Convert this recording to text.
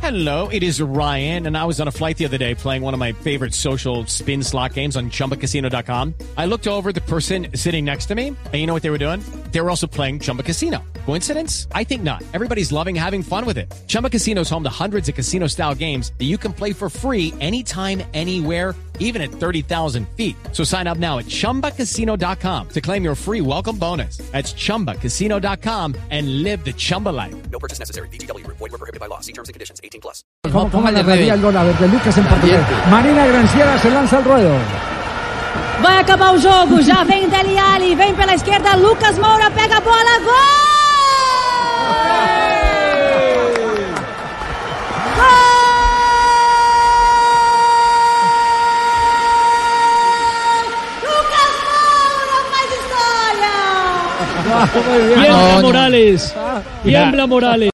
Hello, it is Ryan, and I was on a flight the other day playing one of my favorite social spin slot games on ChumbaCasino.com. I looked over at the person sitting next to me, and you know what they were doing? They were also playing Chumba Casino. Coincidence? I think not. Everybody's loving having fun with it. Chumba Casino is home to hundreds of casino-style games that you can play for free anytime, anywhere, even at 30,000 feet. So sign up now at ChumbaCasino.com to claim your free welcome bonus. That's ChumbaCasino.com and live the Chumba life. No purchase necessary. VGW. Void were prohibited by law. See terms and conditions. 18+. ¿Cómo narraría el gol? A ver, de Lucas en português. Marina Granciera se lança al ruedo. Vai acabar o jogo, já vem Dele Alli, vem pela esquerda, Lucas Moura pega a bola, gol! Lucas Moura faz história! Tiembla Morales, tiembla Morales.